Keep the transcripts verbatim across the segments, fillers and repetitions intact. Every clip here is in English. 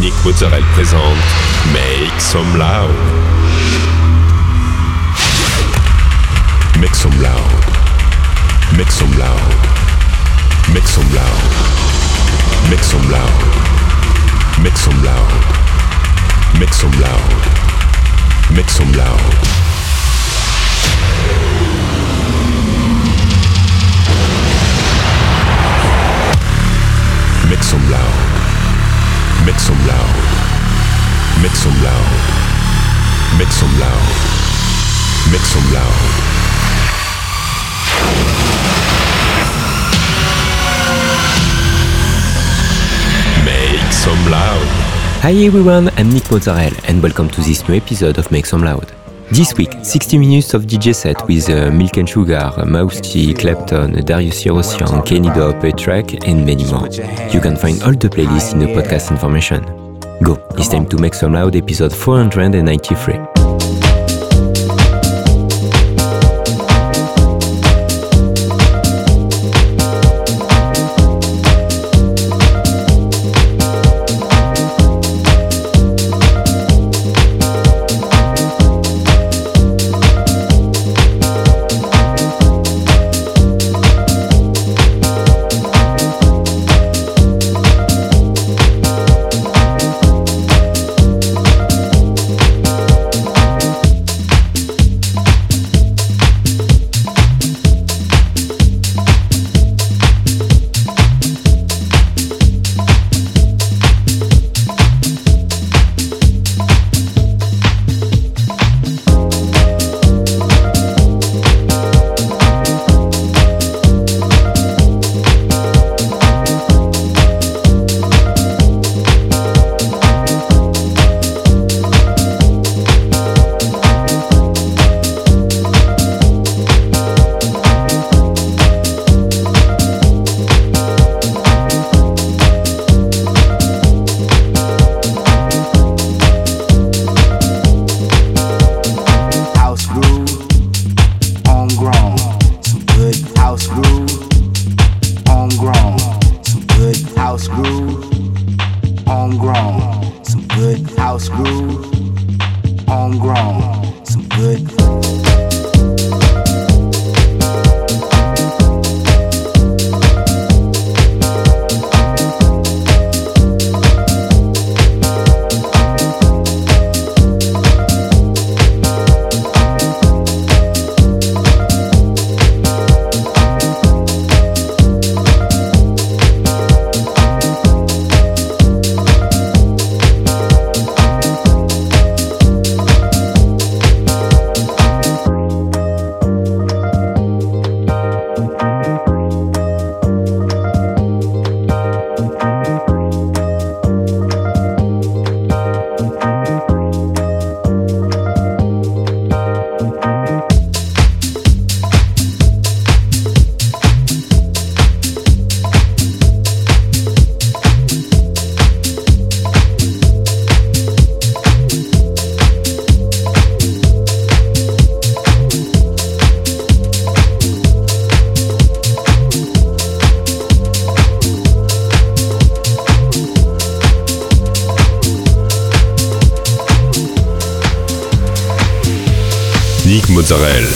Nick Mozzarella présente Make Some Loud. Make some loud. Make some loud. Make some loud. Make some loud. Make some loud. Make some loud. Make some loud. Make some loud. Make some loud. Make some loud. Make some loud. Make some loud. Make some loud. Hi everyone, I'm Nick Mozzarella and welcome to this new episode of Make Some Loud. This week, sixty minutes of D J set with uh, Milk and Sugar, Mouse T, Clapton, Darius Syrossian, Kenny Dope, A-Track and many more. You can find all the playlists in the podcast information. Go, it's time to Make Some Loud episode four hundred ninety-three. Nick Mozzarella.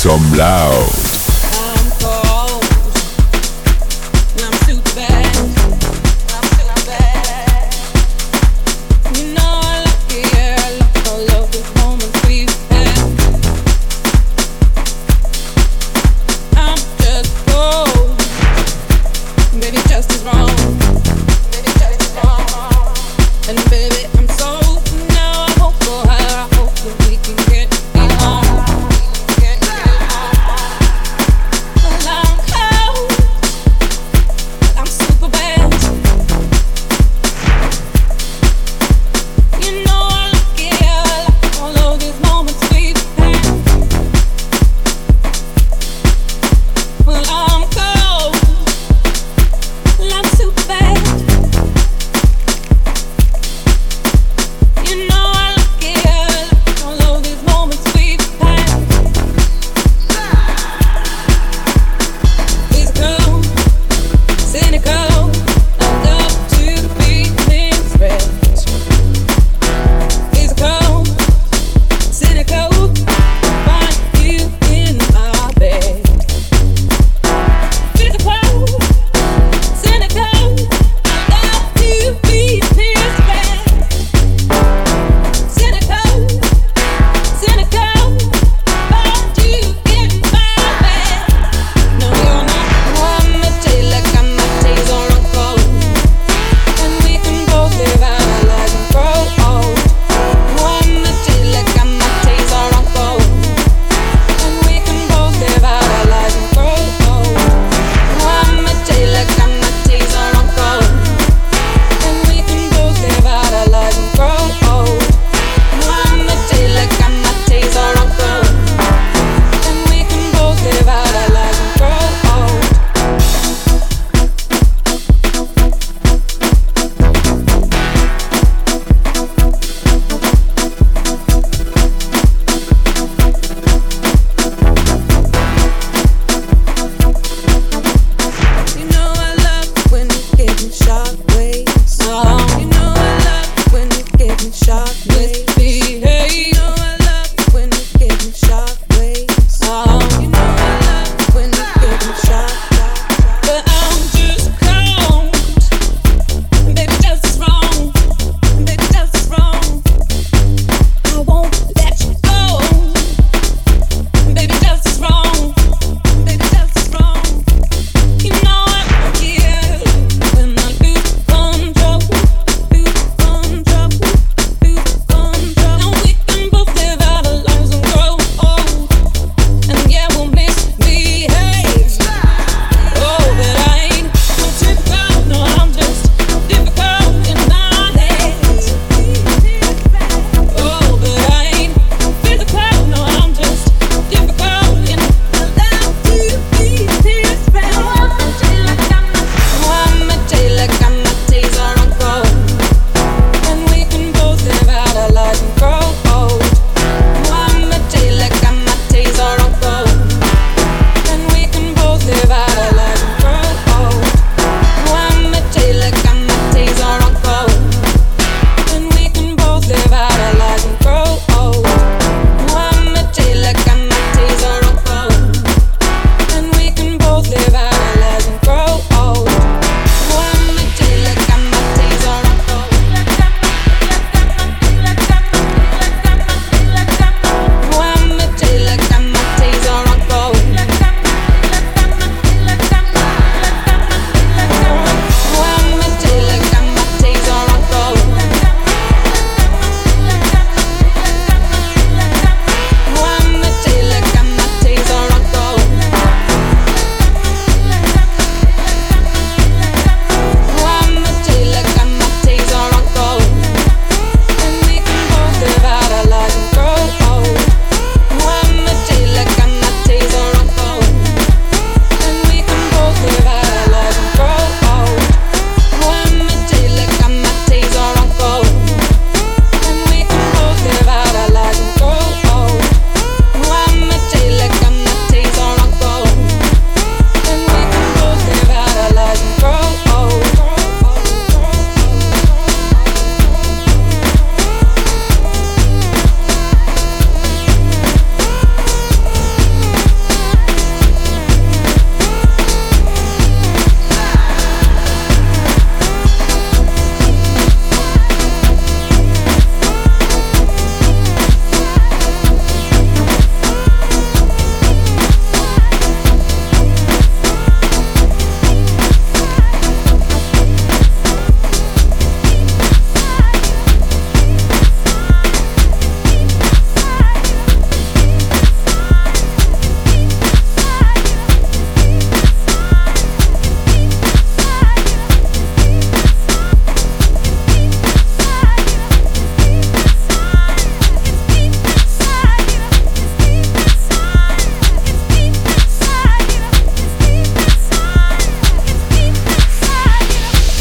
some loud.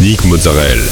Nick Mozzarella.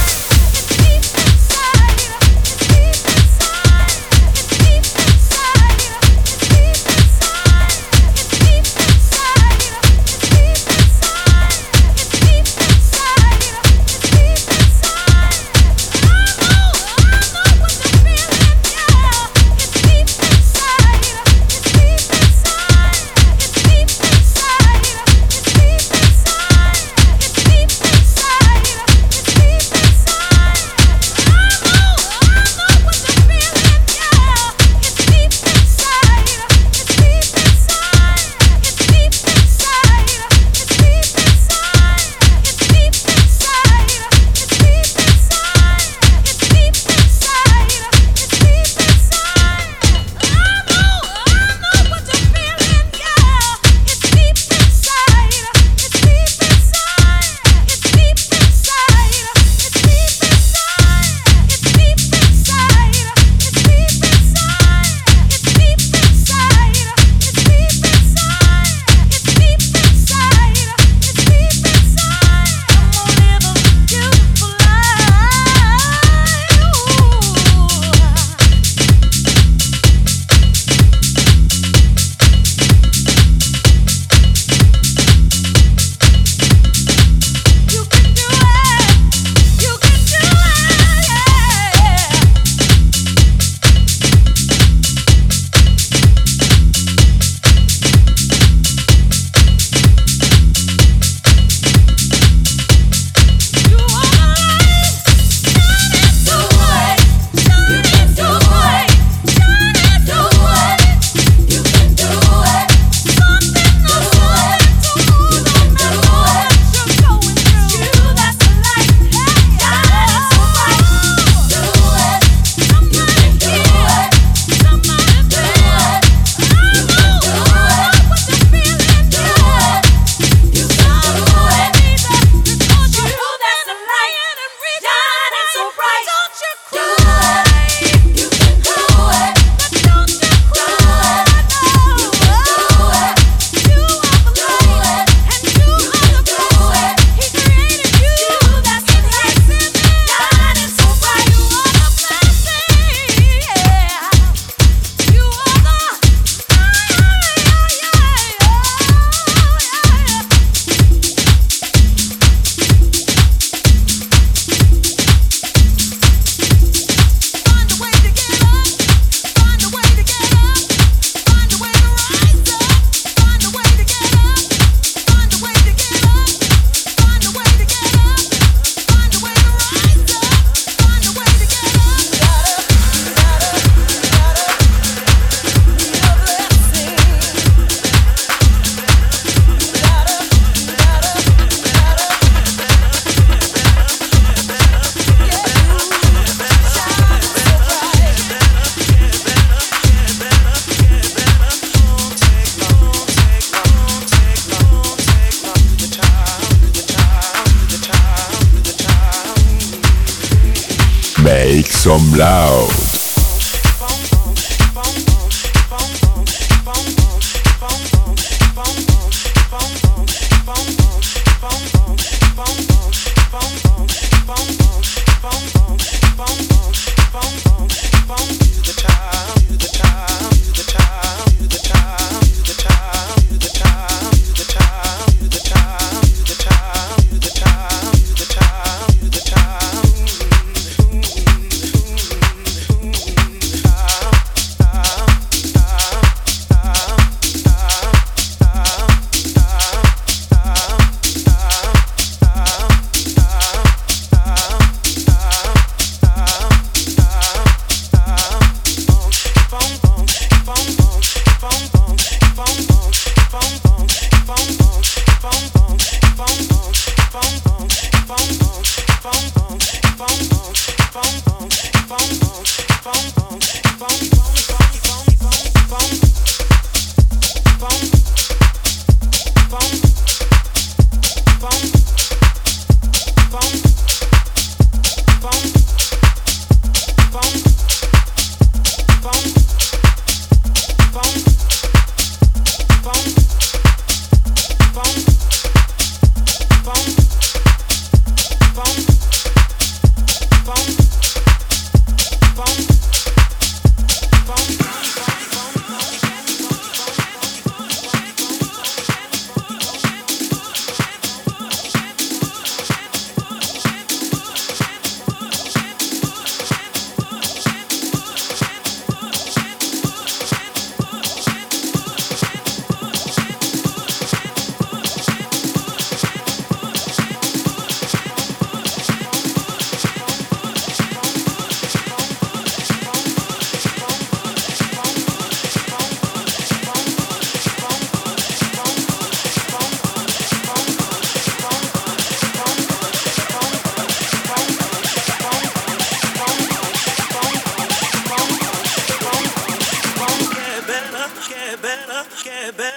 Make some loud.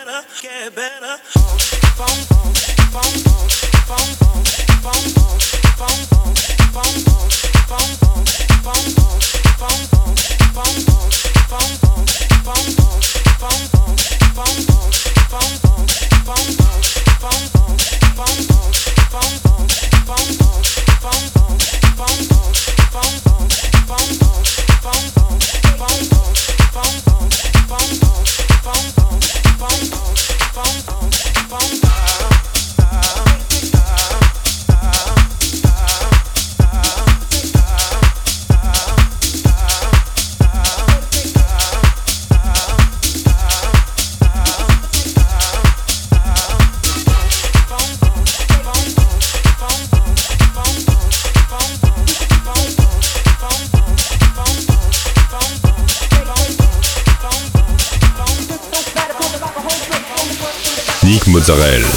Nick Mozzarella.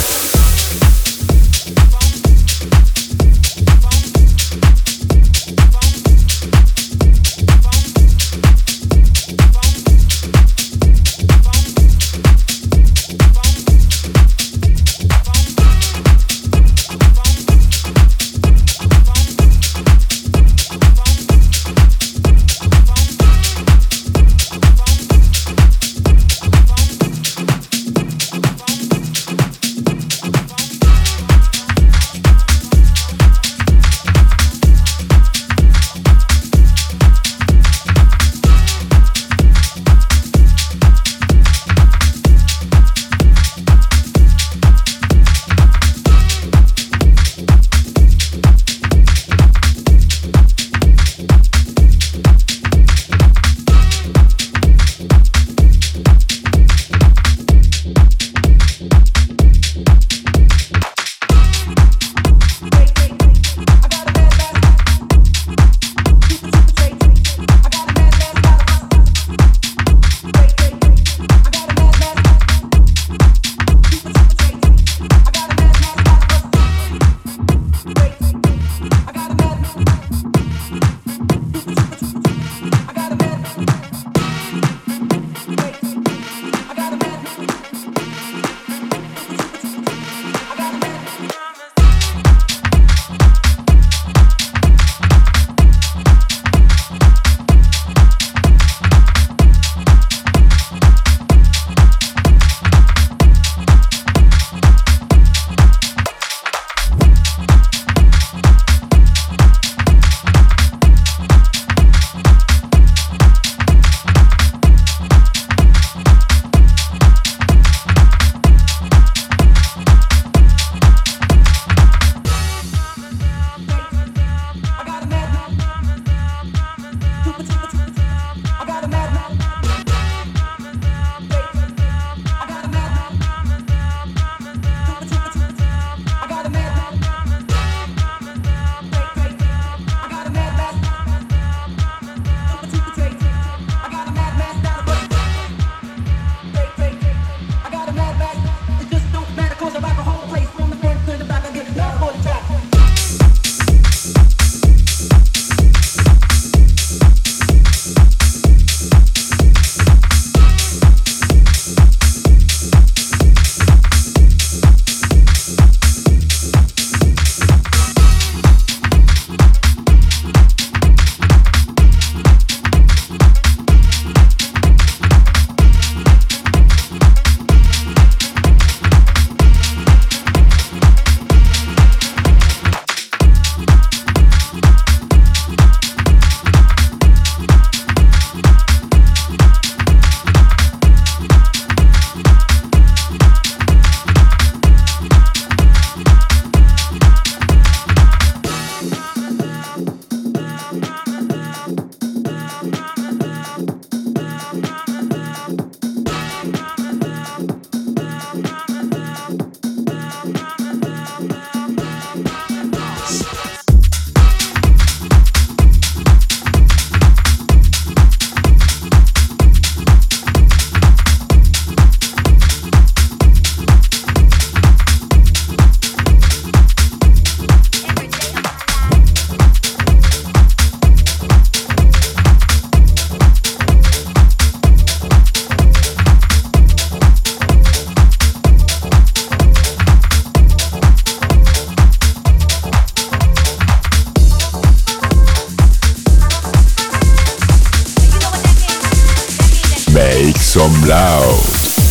some loud.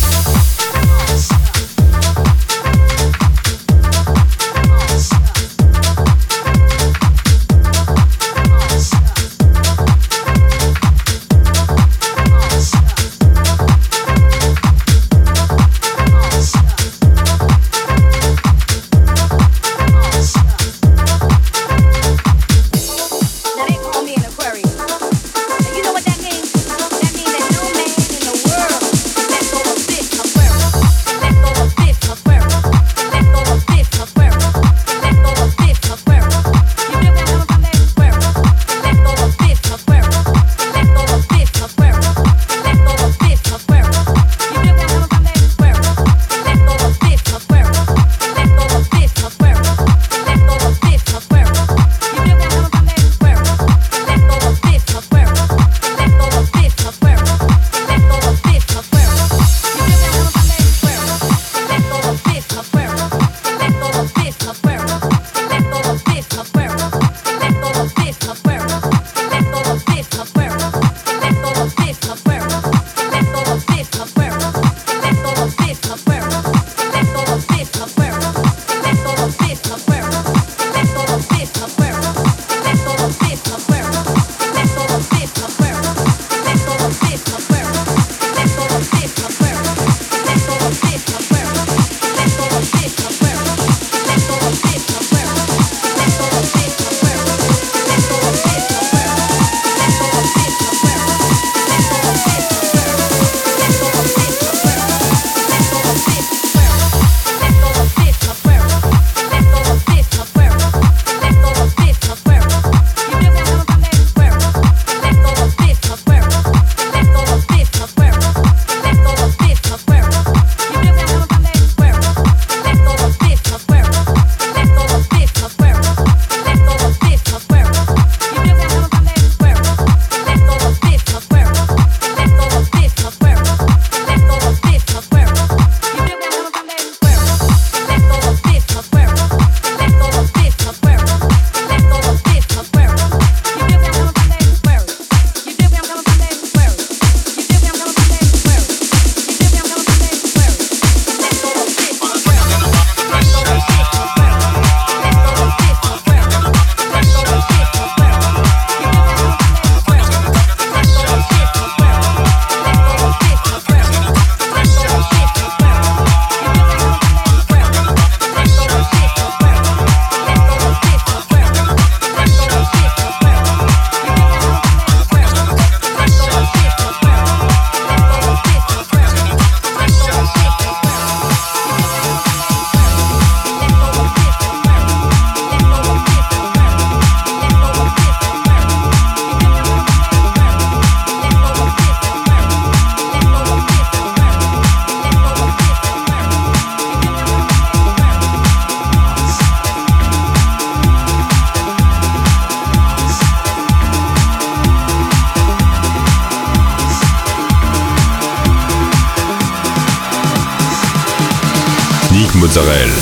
Mozzarella.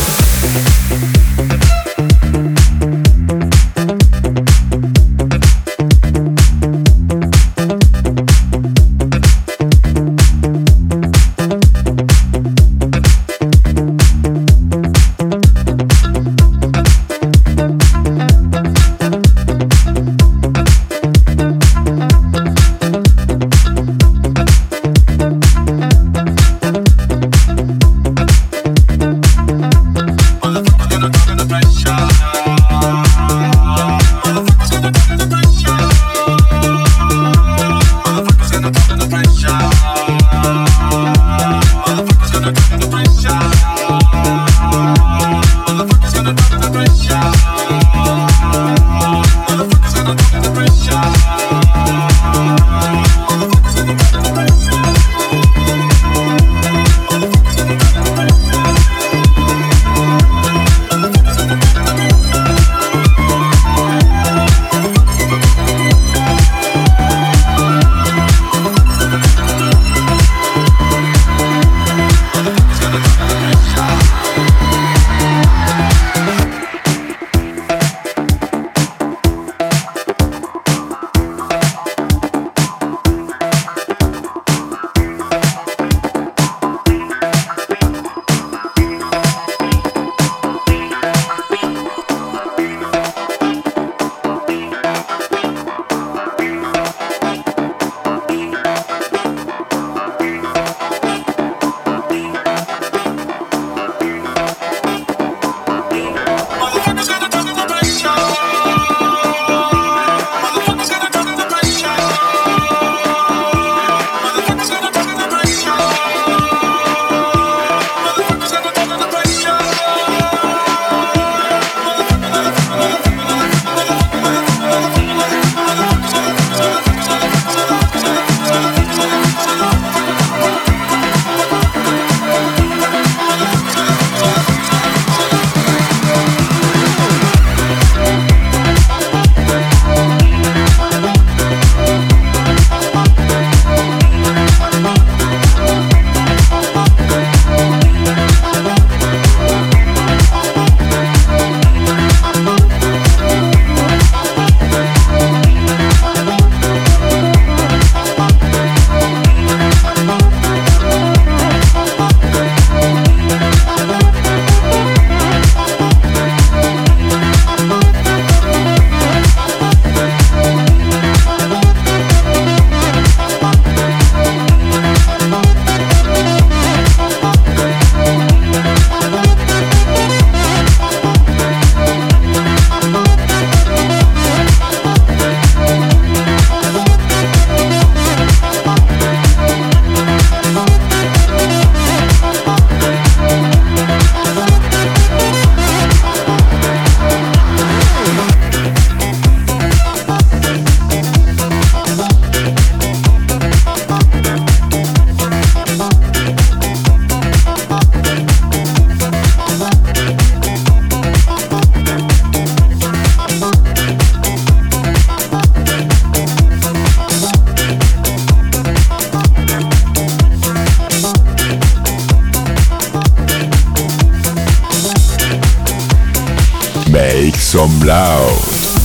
Make some loud.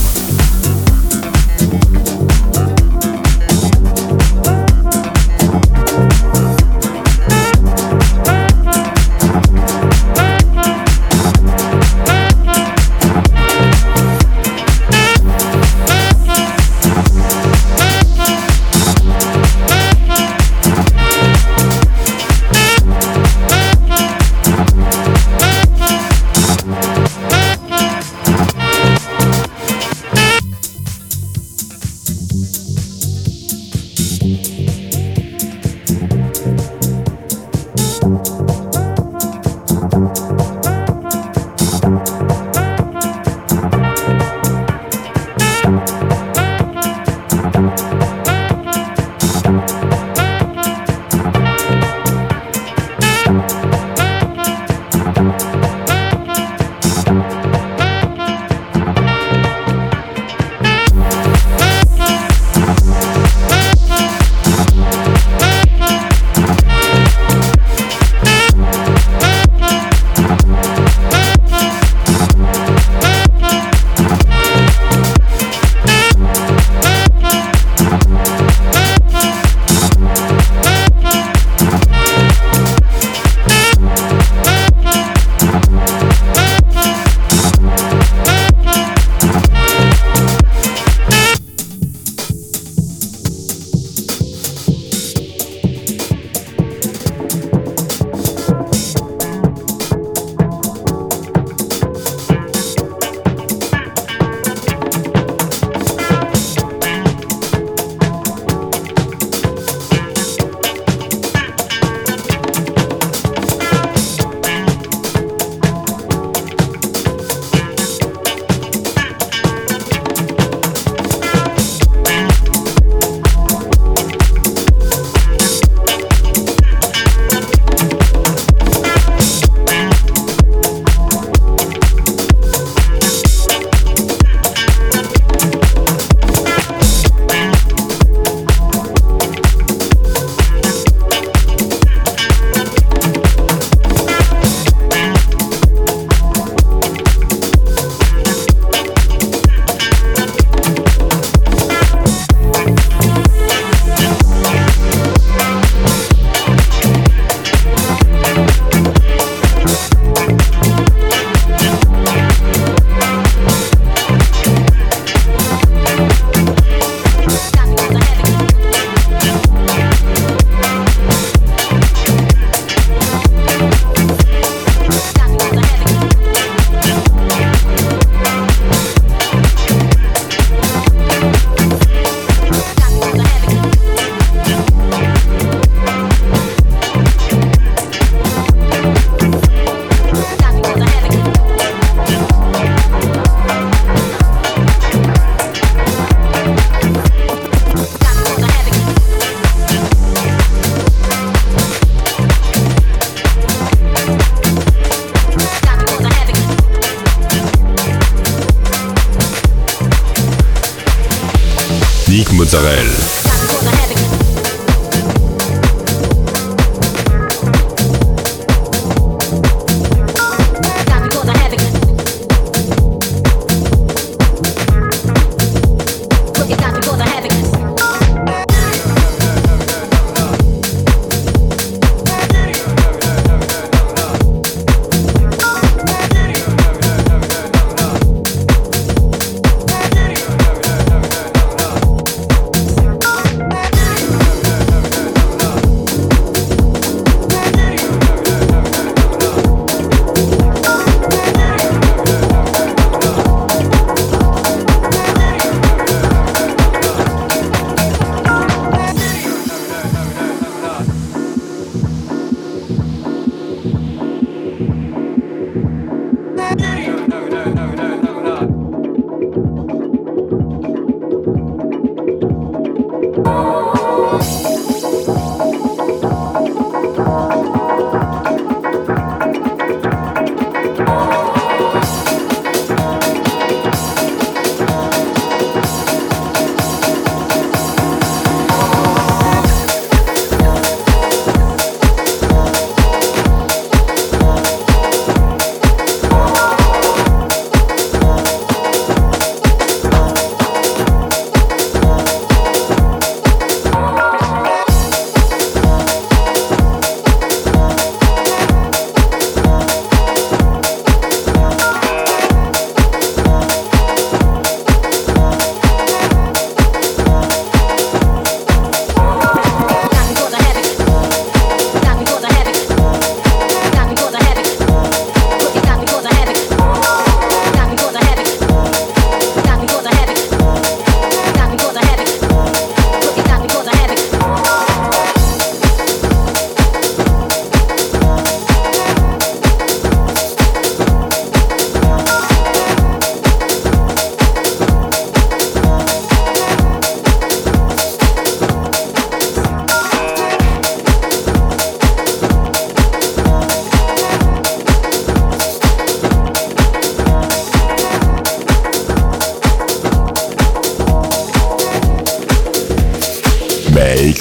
Nick Mozzarella.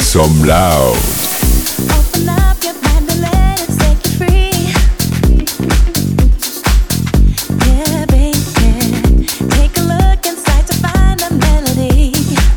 some loud. Open up your mind and let it set you free. Yeah, baby, take a look inside to find a melody.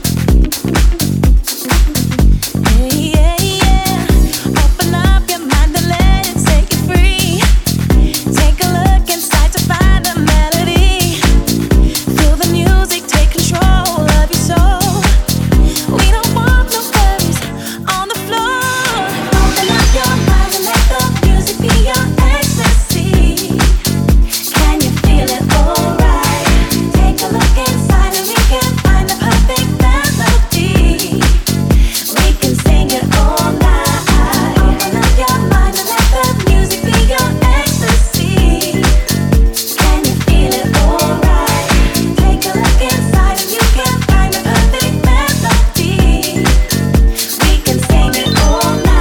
Yeah, yeah, yeah. Open up your mind and let it set you free. Take a look inside to find a melody. Feel the music take control of your soul. We don't want no worries on the floor. Open up your mind and let the music be your ecstasy. Can you feel it alright? Take a look inside and we can find the perfect melody. We can sing it all night. Open up your mind and let the music be your ecstasy. Can you feel it alright? Take a look inside and you can find the perfect melody. We can sing it all night.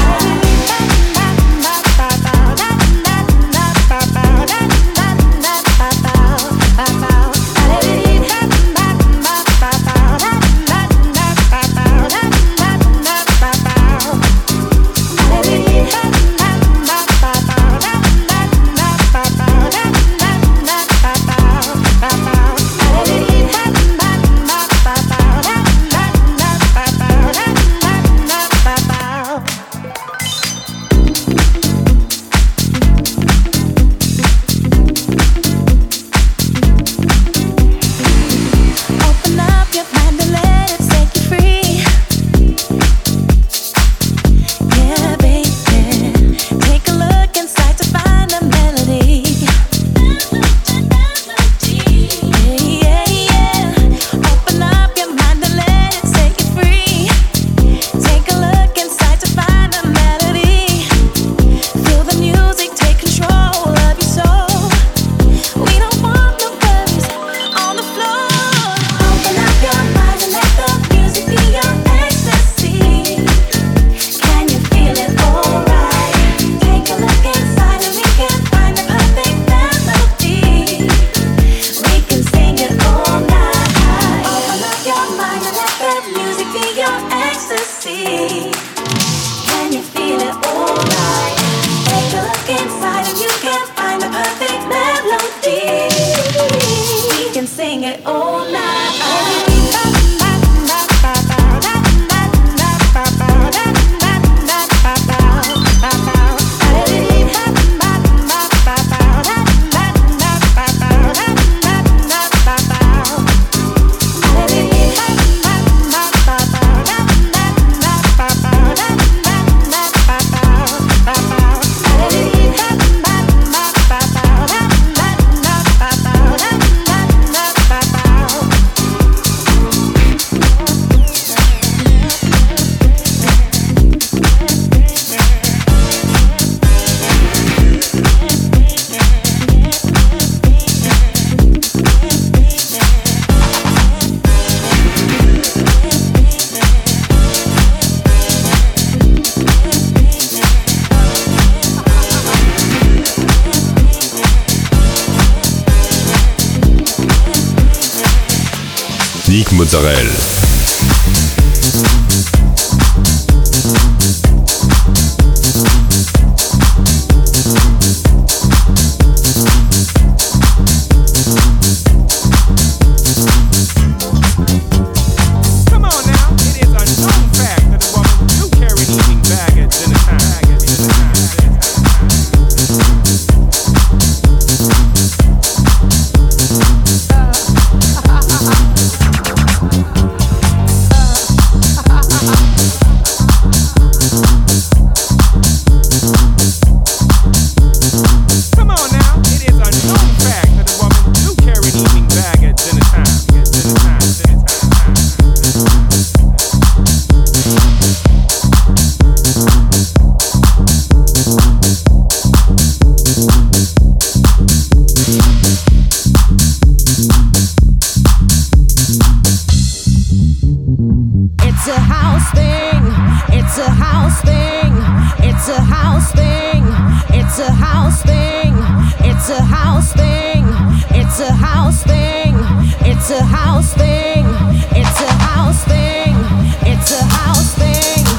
Open up your mind and let it set you free. Yeah, baby, take a look inside to find a melody. Yeah, yeah, yeah. Open up your mind and let it set you free. Take a look inside to find a melody. Feel the music take control of your soul. We don't want no worries on the floor. Open up your mind and let the music be your ecstasy. Can you feel it alright? Take a look inside and we can find the perfect melody. We can sing it all night. Open up your mind and let the music be your ecstasy. Can you feel it alright? Take a look inside and you can find the perfect melody. We can sing it all night. Nick Mozzarella. It's a house thing. It's a house thing. It's a house thing.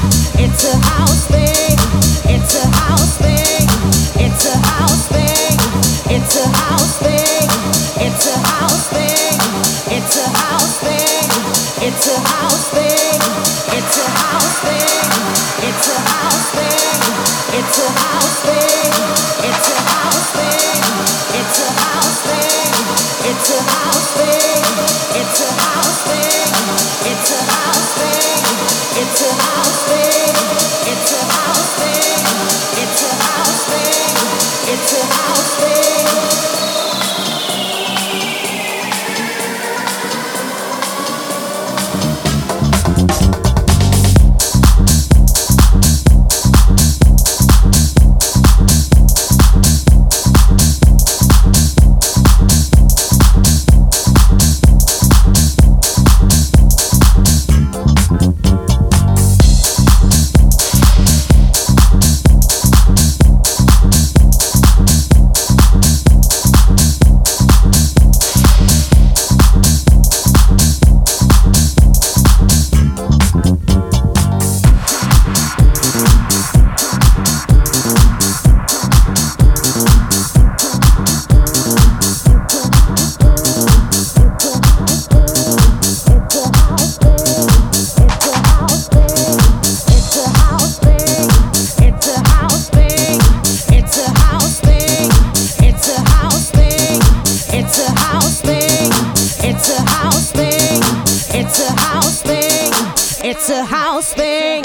it's a house thing.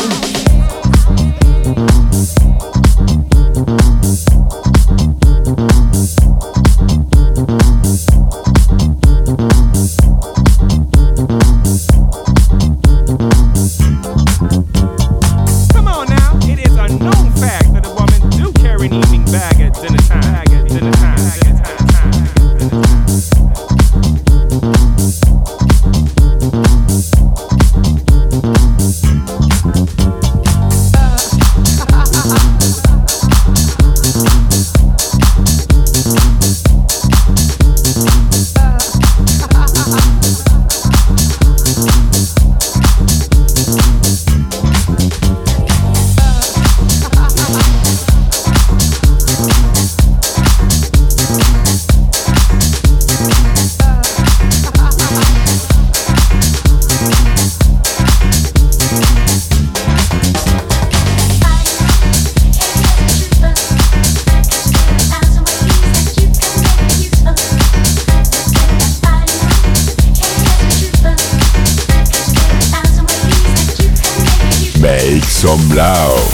Come on now, it is a known fact that a woman do carry an evening bag at dinner time. Bag at dinner time. Bag at dinner time. Make some loud.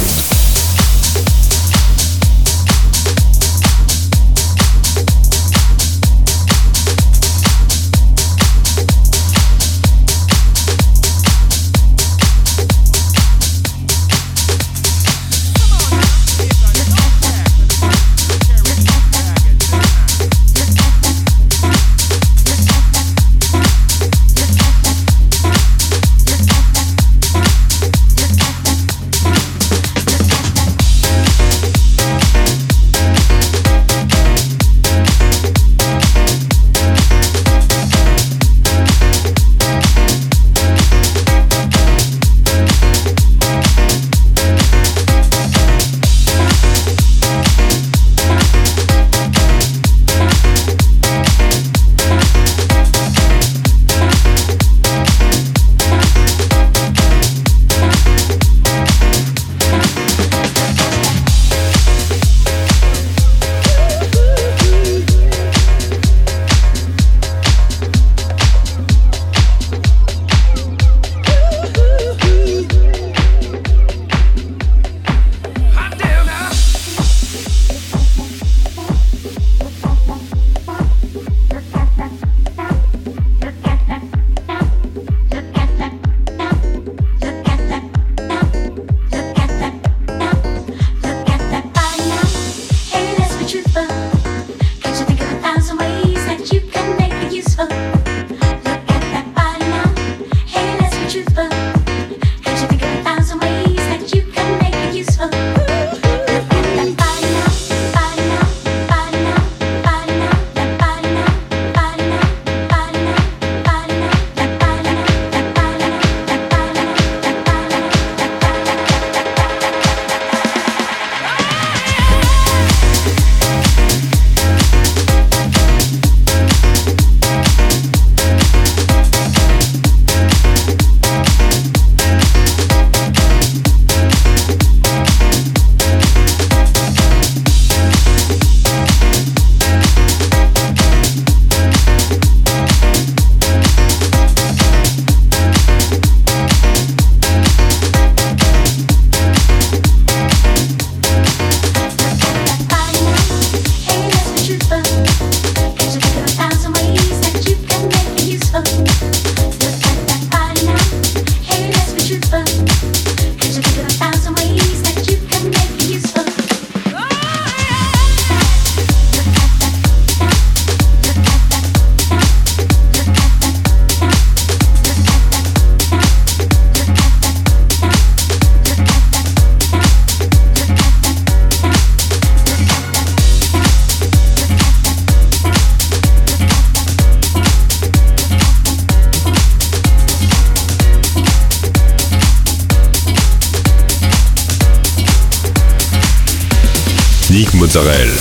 Nick Mozzarella.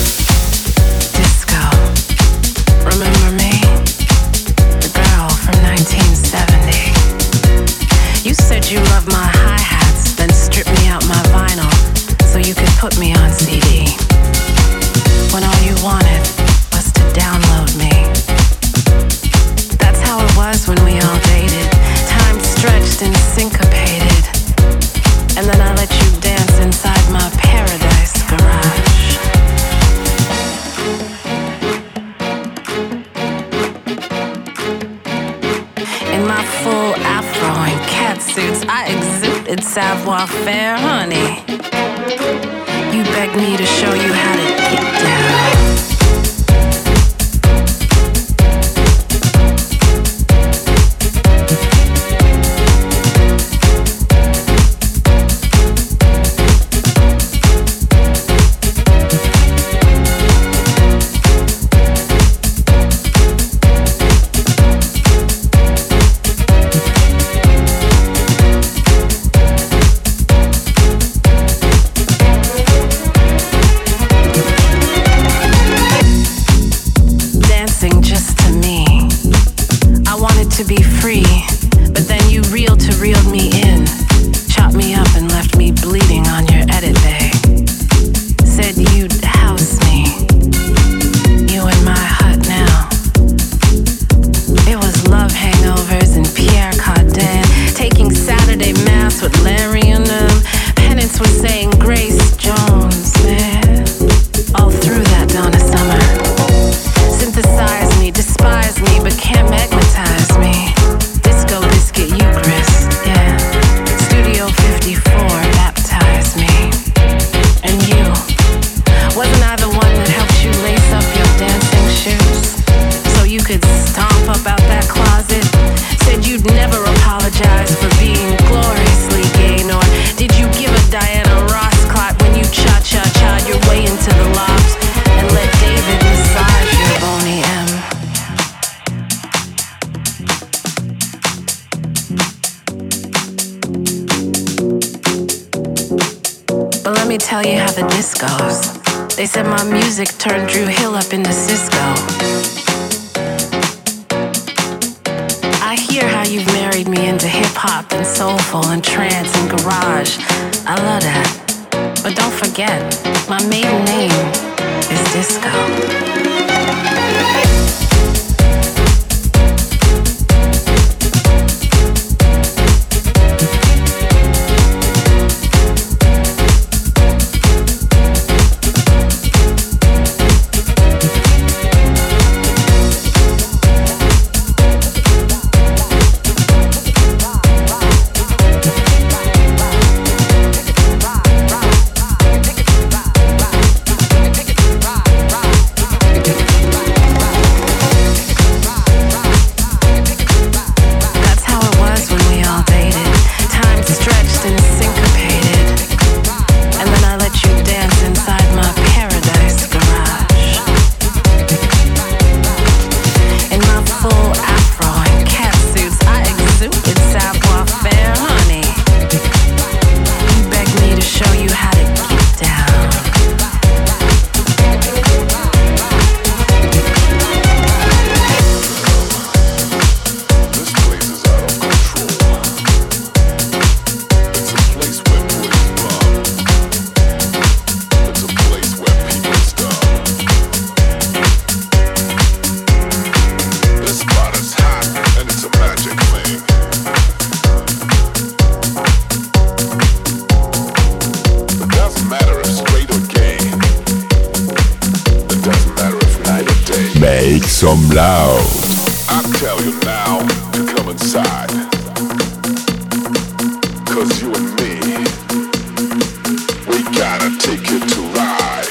Disco. Remember me? The girl from nineteen seventy. You said you loved my hi-hats, then stripped me out my vinyl so you could put me on C D. When all you wanted was to download me. That's how it was when we all dated. Time stretched and syncopated. good savoir-faire, honey. You begged me to show you how to get down. To be free, but then you reeled to reeled me in, chopped me up and left me bleeding on your edit bay. Said you'd house me, you in my hut now. It was love hangovers and Pierre Cardin, taking Saturday mass with Larry and them. Penance was saying Grace Jones, man, all through that Donna Summer. Synthesize me, despise me, but can't magnetize me. Disco biscuit Eucharist, yeah. Studio fifty-four, baptize me. And you, wasn't I the one that helped you lace up your dancing shoes so you could stomp up out that closet? Said you'd never apologize for being gloriously gay, nor did you give a Diana Ross clot when you cha-cha-cha'd your way into the loft and let David massage your bony M. But let me tell you how the disc goes. They said my music turned Drew Hill up into Cisco. I hear how you've married me into hip-hop and soulful and trance and garage. I love that. But don't forget, my maiden name is Disco. Some loud. I tell you now to come inside. Cause you and me, we gotta take it to ride.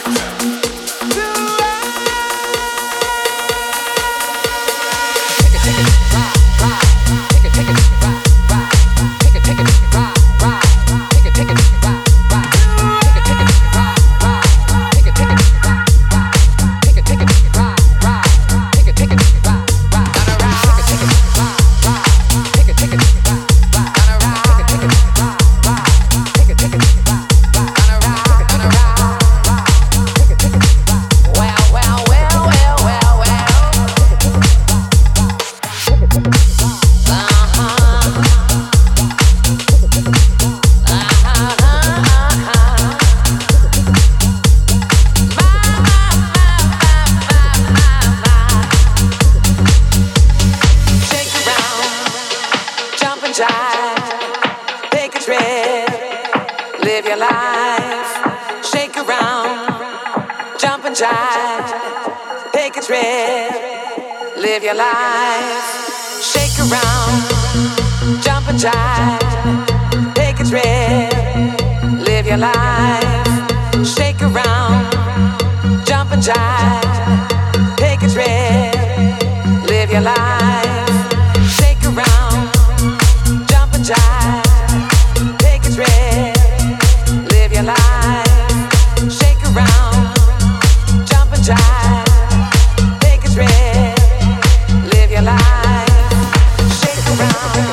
Live your life, shake around, jump and jive, take a trip. your life, shake around, jump and jive, take a trip, live your life, shake around, jump and jive, take a trip, live your life, shake around, jump and jive, take a trip, live your life, shake around.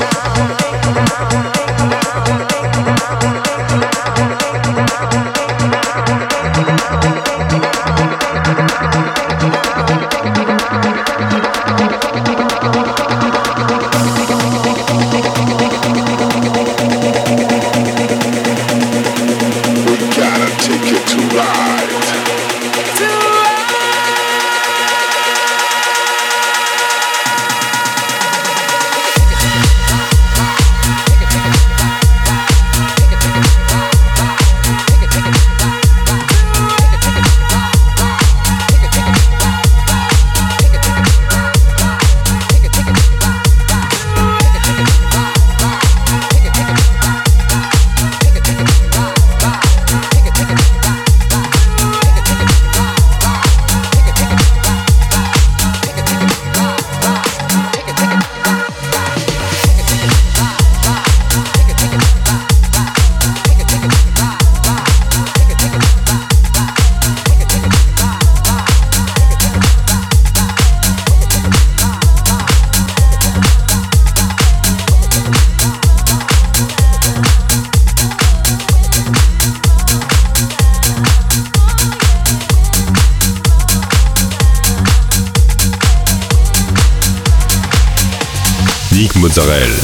Nick Mozzarella.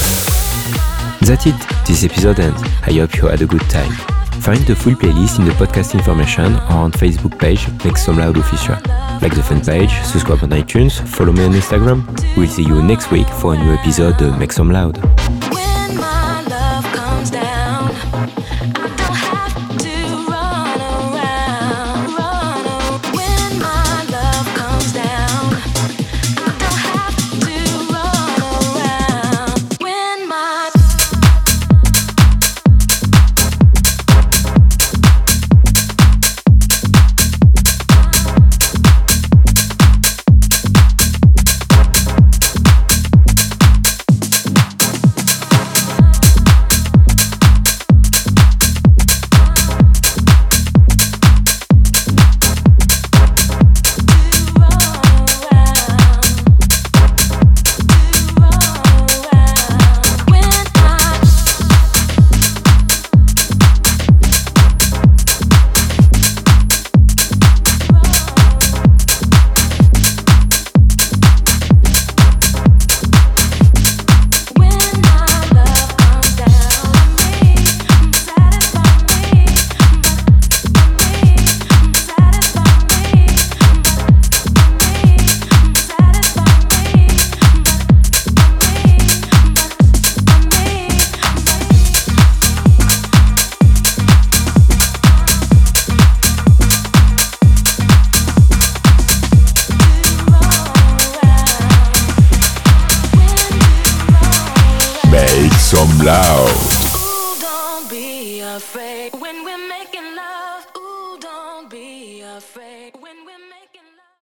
That's it, this episode ends. I hope you had a good time. Find the full playlist in the podcast information or on Facebook page Make Some Loud Official. Like the fan page, subscribe on iTunes, follow me on Instagram. We'll see you next week for a new episode of Make Some Loud. When my love comes down, I don't have to run around, run around. When my love comes down, I don't have to run around. When my Make some loud.